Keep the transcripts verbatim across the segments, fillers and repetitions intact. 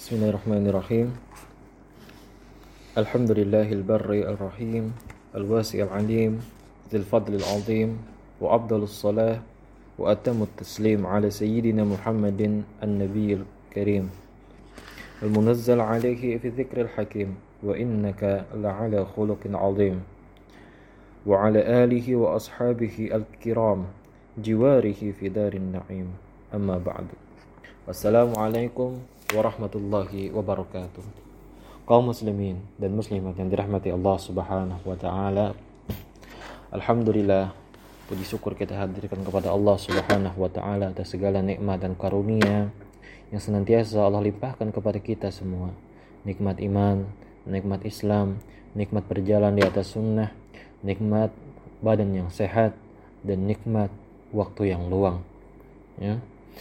Bismillahirrahmanirrahim. Alhamdulillahil barri al-rahim, al-wasi' al-alim, dzil fadlil azim, wa afdhalus salah wa atammut taslim ala sayyidina Muhammadin an-nabiyil karim. Al-munazzal alaihi fi dzikril hakim, wa innaka la'ala khuluqin azim. Wa ala alihi wa ashabihi al-kiram, jiwarihi fi darin na'im. Amma ba'du. Wassalamualaikum warahmatullahi wabarakatuh. Kaum muslimin dan muslimat yang dirahmati Allah Subhanahu wa taala. Alhamdulillah, puji syukur kita hadirkan kepada Allah Subhanahu wa taala atas segala nikmat dan karunia yang senantiasa Allah limpahkan kepada kita semua. Nikmat iman, nikmat Islam, nikmat berjalan di atas sunnah, nikmat badan yang sehat, dan nikmat waktu yang luang. Ya.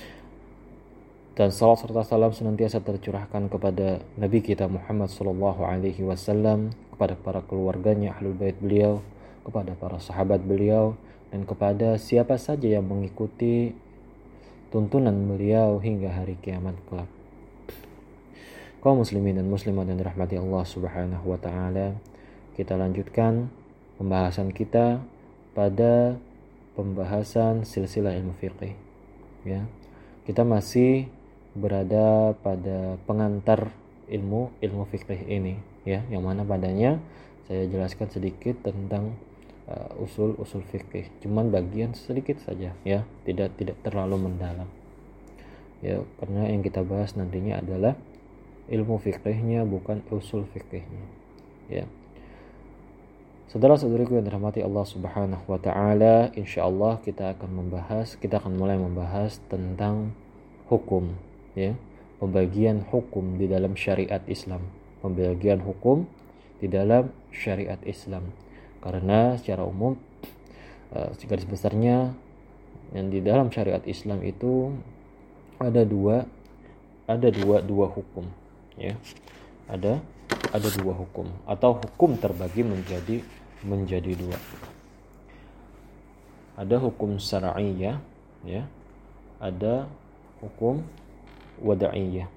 Dan salat serta salam senantiasa tercurahkan kepada Nabi kita Muhammad sallallahu alaihi wasallam, kepada para keluarganya, ahlul bait beliau, kepada para sahabat beliau, dan kepada siapa saja yang mengikuti tuntunan beliau hingga hari kiamat kelak. Kaum muslimin dan muslimat yang dirahmati Allah Subhanahu wa taala, kita lanjutkan pembahasan kita pada pembahasan silsilah ilmu fiqih. Ya. Kita masih berada pada pengantar ilmu ilmu fikih ini, ya, yang mana padanya saya jelaskan sedikit tentang uh, usul usul fikih, cuman bagian sedikit saja, ya, tidak tidak terlalu mendalam, ya, karena yang kita bahas nantinya adalah ilmu fikihnya, bukan usul fikihnya, ya. Saudara-saudariku yang dirahmati Allah Subhanahu wa taala, insyaallah kita akan membahas, kita akan mulai membahas tentang hukum, ya, pembagian hukum di dalam syariat Islam, pembagian hukum di dalam syariat Islam. Karena secara umum uh, garis besarnya yang di dalam syariat Islam itu ada dua ada dua dua hukum, ya. Ada ada dua hukum, atau hukum terbagi menjadi menjadi dua. Ada hukum syar'iyyah, ya. Ada hukum wada'iyah.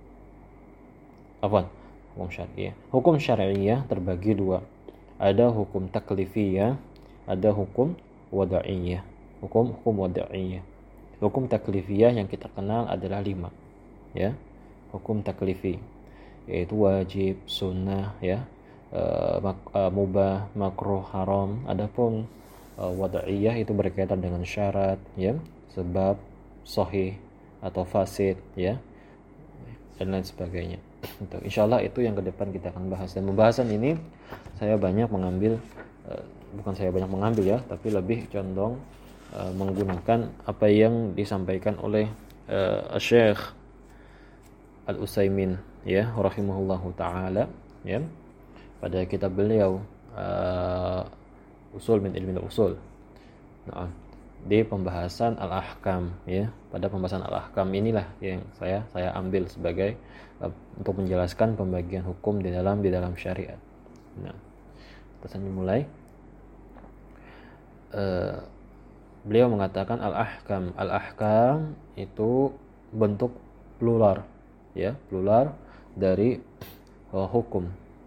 Apa? Hukum syariah. Hukum syariah terbagi dua. Ada hukum taklifiyah, ada hukum wada'iyah. Hukum hukum wada'iyah. Hukum taklifiyah yang kita kenal adalah lima, ya. Hukum taklifi yaitu wajib, sunnah, ya, uh, mak, uh, mubah, makruh, haram. Adapun uh, wada'iyah itu berkaitan dengan syarat, ya, sebab, sahih atau fasid, ya, dan lain sebagainya. Insyaallah itu yang ke depan kita akan bahas. Dan pembahasan ini saya banyak mengambil, uh, bukan saya banyak mengambil, ya, tapi lebih condong uh, menggunakan apa yang disampaikan oleh uh, Syekh Al-Utsaimin, ya, rahimahullahu taala, ya, pada kitab beliau uh, Usul min Ilmi Usul. Nah, di pembahasan al-ahkam, ya, pada pembahasan al-ahkam inilah yang saya saya ambil sebagai uh, untuk menjelaskan pembagian hukum di dalam di dalam syariat. Nah, kita mulai. Uh, beliau mengatakan al-ahkam, al-ahkam itu bentuk plural, ya, plural dari uh, hukum.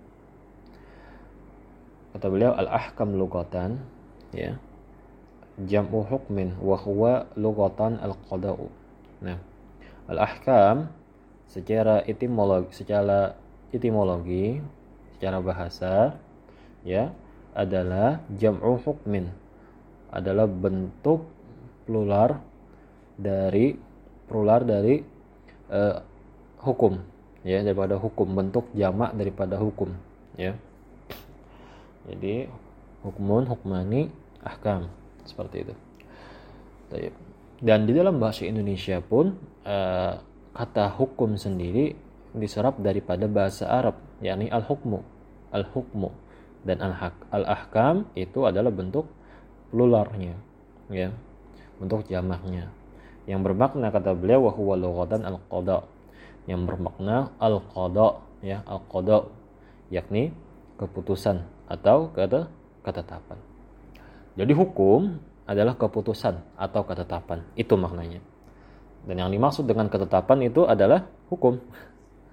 Kata beliau al-ahkam lughatan, ya, jam'u hukmin wa huwa lughatan al-qada'u. Nah, al-ahkam secara etimologi, secara etimologi, secara bahasa, ya, adalah jam'u hukmin, adalah bentuk plural dari plural dari uh, hukum, ya, daripada hukum, bentuk jamak daripada hukum, ya. Jadi hukmun, hukmani, ahkam, seperti itu. Dan di dalam bahasa Indonesia pun uh, kata hukum sendiri diserap daripada bahasa Arab, yakni al-hukmu, al-hukmu, dan al-ahkam itu adalah bentuk pluralnya, ya, bentuk jamaknya, yang bermakna, kata beliau, wa huwa lughatan al-qada, yang bermakna al-qada, ya, al-qada, yakni keputusan atau kata ketetapan. Jadi hukum adalah keputusan atau ketetapan, itu maknanya. Dan yang dimaksud dengan ketetapan itu adalah hukum.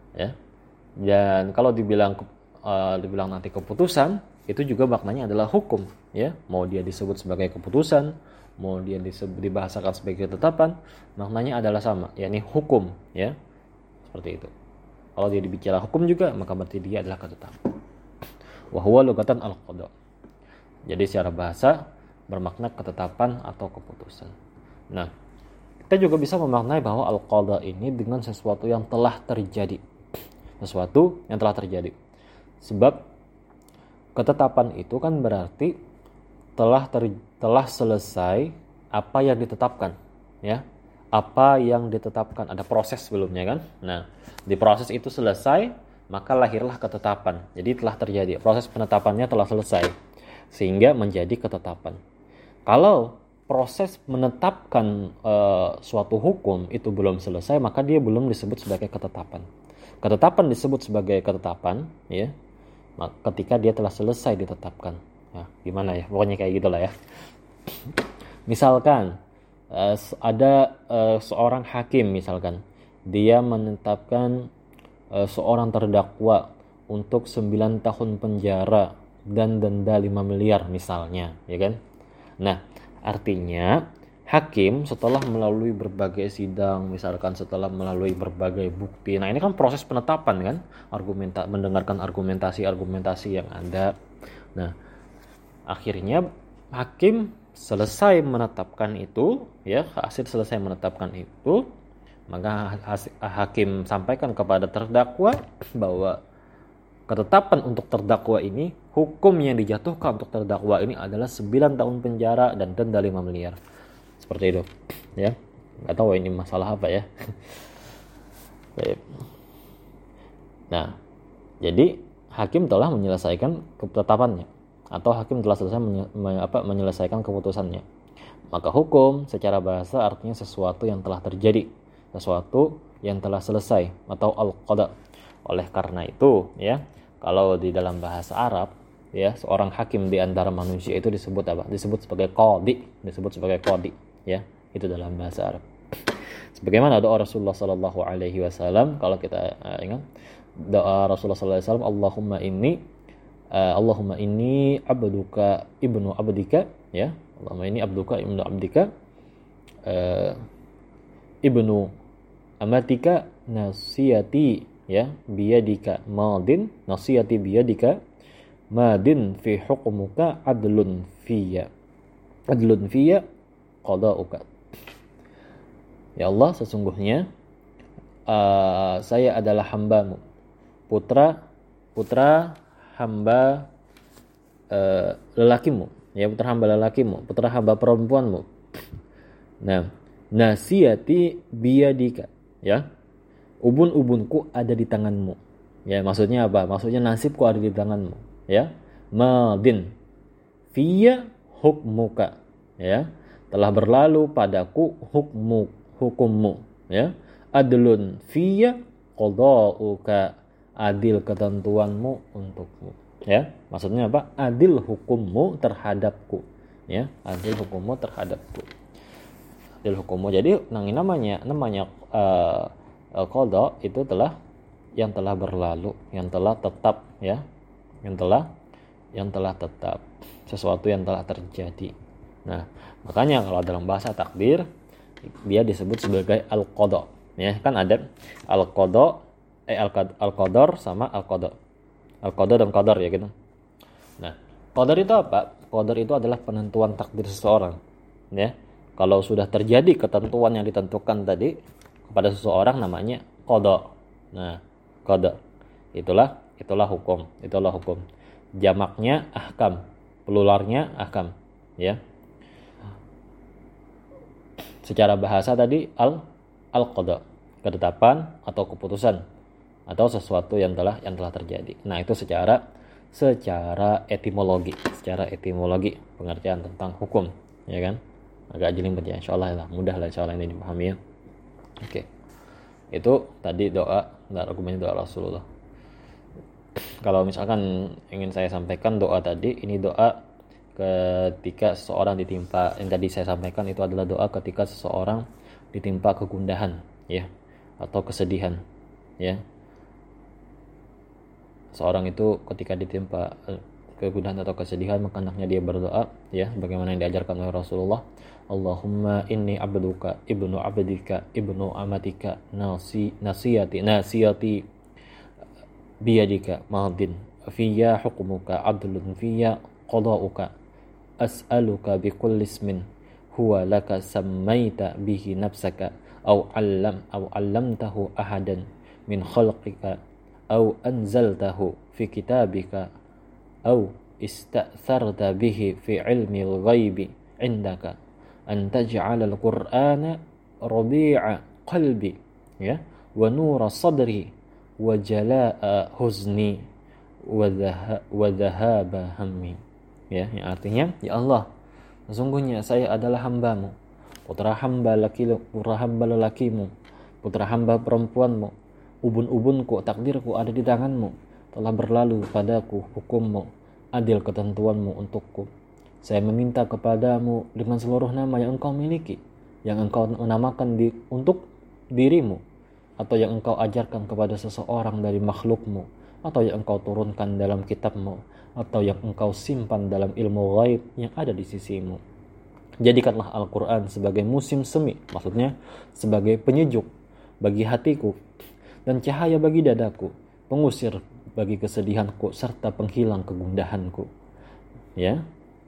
ya. Dan kalau dibilang uh, dibilang nanti keputusan, itu juga maknanya adalah hukum, ya. Mau dia disebut sebagai keputusan, mau dia disebut dibahasakan sebagai ketetapan, maknanya adalah sama, yakni hukum, ya. Seperti itu. Kalau dia dibicara hukum juga, maka berarti dia adalah ketetapan. Wa huwa lugatan al-qada. Jadi secara bahasa bermakna ketetapan atau keputusan. Nah, kita juga bisa memaknai bahwa al-qada ini dengan sesuatu yang telah terjadi. Sesuatu yang telah terjadi. Sebab ketetapan itu kan berarti telah ter, telah selesai apa yang ditetapkan, ya. Apa yang ditetapkan, ada proses sebelumnya kan. Nah, di proses itu selesai, maka lahirlah ketetapan. Jadi telah terjadi, proses penetapannya telah selesai sehingga menjadi ketetapan. Kalau proses menetapkan e, suatu hukum itu belum selesai, maka dia belum disebut sebagai ketetapan. Ketetapan disebut sebagai ketetapan, ya, ketika dia telah selesai ditetapkan. Nah, gimana ya? Pokoknya kayak gitulah ya. Misalkan uh, ada uh, seorang hakim, misalkan dia menetapkan uh, seorang terdakwa untuk sembilan tahun penjara dan denda lima miliar misalnya, ya kan? Nah, artinya hakim setelah melalui berbagai sidang, misalkan setelah melalui berbagai bukti. Nah, ini kan proses penetapan kan, argumenta mendengarkan argumentasi-argumentasi yang ada. Nah, akhirnya hakim selesai menetapkan itu, ya, hasil selesai menetapkan itu, maka hakim sampaikan kepada terdakwa bahwa ketetapan untuk terdakwa ini, hukum yang dijatuhkan untuk terdakwa ini adalah sembilan tahun penjara dan denda lima miliar. Seperti itu, ya. Nggak tahu ini masalah apa ya. Nah, jadi hakim telah menyelesaikan ketetapannya, atau hakim telah selesai menye- apa, menyelesaikan keputusannya. Maka hukum secara bahasa artinya sesuatu yang telah terjadi, sesuatu yang telah selesai, atau al-qada. Oleh karena itu, ya, kalau di dalam bahasa Arab, ya, seorang hakim di antara manusia itu disebut apa? Disebut sebagai qadi, disebut sebagai qadi, ya. Itu dalam bahasa Arab. Sebagaimana doa Rasulullah sallallahu alaihi wasallam, kalau kita uh, ingat doa Rasulullah sallallahu alaihi wasallam, Allahumma inni uh, Allahumma inni abduka ibnu abdika, ya. Allahumma inni abduka ibnu abdika uh, ibnu amatika nasiyati, ya, biyadika madin, nasiyati biyadika madin fi hukmuka adlun fiyya adlun fiyya qada'uka. Ya Allah, sesungguhnya uh, saya adalah hambamu, putra putra hamba uh, lelakimu, ya, putra hamba lelakimu, putra hamba perempuanmu. Nah, nasiyati biyadika, ya, ubun-ubunku ada di tanganmu. Ya, maksudnya apa? Maksudnya nasibku ada di tanganmu, ya. Madin fiyya hukmuka, ya, telah berlalu padaku hukmu hukummu, ya. Adlun fiyya qada'uka, adil ketentuanmu untukmu, ya. Maksudnya apa? Adil hukummu terhadapku, ya, adil hukummu terhadapku. Adil hukummu. Jadi namanya namanya uh, qada itu telah yang telah berlalu, yang telah tetap, ya, yang telah yang telah tetap, sesuatu yang telah terjadi. Nah, makanya kalau dalam bahasa takdir dia disebut sebagai al-qada, ya, kan ada al-qada eh al-qadar sama al-qada. Al-qada dan qadar, ya gitu. Nah, qadar itu apa? Qadar itu adalah penentuan takdir seseorang, ya. Kalau sudah terjadi ketentuan yang ditentukan tadi kepada seseorang, namanya qada. Nah, qada itulah itulah hukum, itulah hukum. Jamaknya ahkam, pluralnya ahkam, ya. Secara bahasa tadi al al-qada, ketetapan atau keputusan atau sesuatu yang telah yang telah terjadi. Nah, itu secara secara etimologi, secara etimologi pengertian tentang hukum, ya kan? Agak jelimet ya, insyaallah lah, mudah lah insyaallah ini dipahami ya. Oke. Itu tadi doa dan argumen doa Rasulullah. Kalau misalkan ingin saya sampaikan doa tadi, ini doa ketika seseorang ditimpa, yang tadi saya sampaikan itu adalah doa ketika seseorang ditimpa kegundahan, ya, atau kesedihan, ya. seorang itu ketika ditimpa kegundahan atau kesedihan maka hendaknya dia berdoa, ya, bagaimana yang diajarkan oleh Rasulullah. Allahumma inni abduka ibnu abdika ibnu amatika nasi nasiyati nasiyati biyadika madin fiyya hukmuka adlun fiyya qada'uka as'aluka bikulli ismin huwa laka sammaita bihi nafsaka aw 'allam aw 'allamtahu ahadan min khalqika aw anzaltahu fi kitabika aw ista'tharta bihi fi 'ilmi al-ghaibi 'indaka an taj'ala al-qur'ana rabi'a qalbi, ya, wa nura sadri wa jalaa huzni wa dhahaba hammi, ya, yang artinya, ya Allah, sesungguhnya saya adalah hambamu, putra hamba laki putra hamba lelakimu, putra hamba perempuanmu, ubun-ubunku, takdirku ada di tanganmu, telah berlalu padaku hukummu, adil ketentuanmu untukku. Saya meminta kepadamu dengan seluruh nama yang engkau miliki, yang engkau menamakan di, untuk dirimu, atau yang engkau ajarkan kepada seseorang dari makhlukmu, atau yang engkau turunkan dalam kitabmu, atau yang engkau simpan dalam ilmu ghaib yang ada di sisimu. Jadikanlah Al-Quran sebagai musim semi, maksudnya sebagai penyejuk bagi hatiku dan cahaya bagi dadaku, pengusir bagi kesedihanku serta penghilang kegundahanku, ya,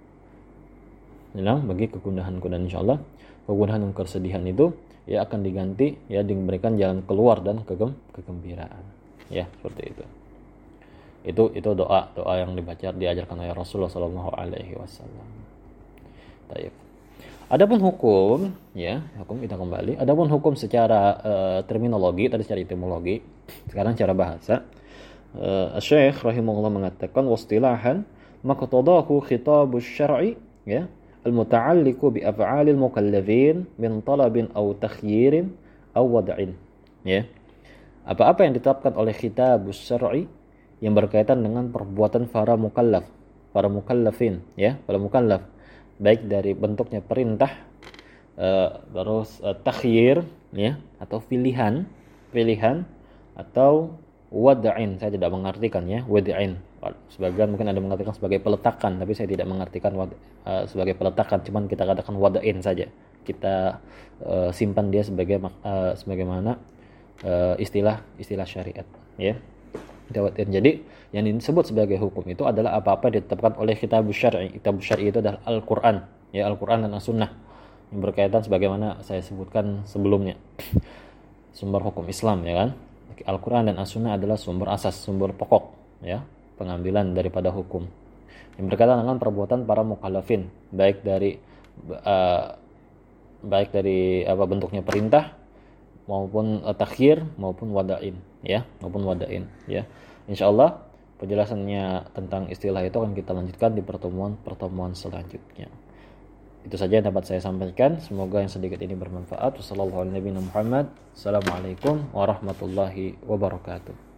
hilang bagi kegundahanku, dan insyaallah kegundahan dan kesedihan itu ya akan diganti, ya, diberikan jalan keluar dan kegem kegembiraan, ya, seperti itu. Itu itu doa doa yang dibaca diajarkan oleh Rasulullah Shallallahu Alaihi Wasallam. Baik. Adapun hukum, ya, hukum kita kembali. Adapun hukum secara uh, terminologi, tadi secara etimologi, sekarang secara bahasa. Uh, Syekh rahimahullah mengatakan wastilahan maqtadahu khitabus syar'i, ya, al-muta'alliqu bi af'alil mukallafin min talabin aw takhyirin aw wad'in, ya. Apa-apa yang ditetapkan oleh khitabus syar'i yang berkaitan dengan perbuatan para mukallaf, para mukallafin, ya, para mukallaf, baik dari bentuknya perintah, uh, terus uh, takhyir, ya, atau pilihan, pilihan atau wad'in. Saya tidak mengartikan, ya, wad'in. Sebagian mungkin ada mengartikan sebagai peletakan, tapi saya tidak mengartikan wad, uh, sebagai peletakan, cuman kita katakan wad'in saja. Kita uh, simpan dia sebagai uh, sebagaimana uh, istilah istilah syariat, ya. Jadi yang disebut sebagai hukum itu adalah apa-apa yang ditetapkan oleh kitab syar'i. Kitab syar'i itu adalah Al-Qur'an, ya, Al-Qur'an dan As-Sunnah yang berkaitan sebagaimana saya sebutkan sebelumnya. Sumber hukum Islam, ya kan? Al-Qur'an dan As-Sunnah adalah sumber asas, sumber pokok, ya, pengambilan daripada hukum yang berkaitan dengan perbuatan para mukallafin, baik dari uh, baik dari apa bentuknya perintah maupun uh, takhir maupun wada'in, ya, maupun wada'in, ya. Insyaallah penjelasannya tentang istilah itu akan kita lanjutkan di pertemuan-pertemuan selanjutnya. Itu saja yang dapat saya sampaikan. Semoga yang sedikit ini bermanfaat. Wassalamualaikum warahmatullahi wabarakatuh.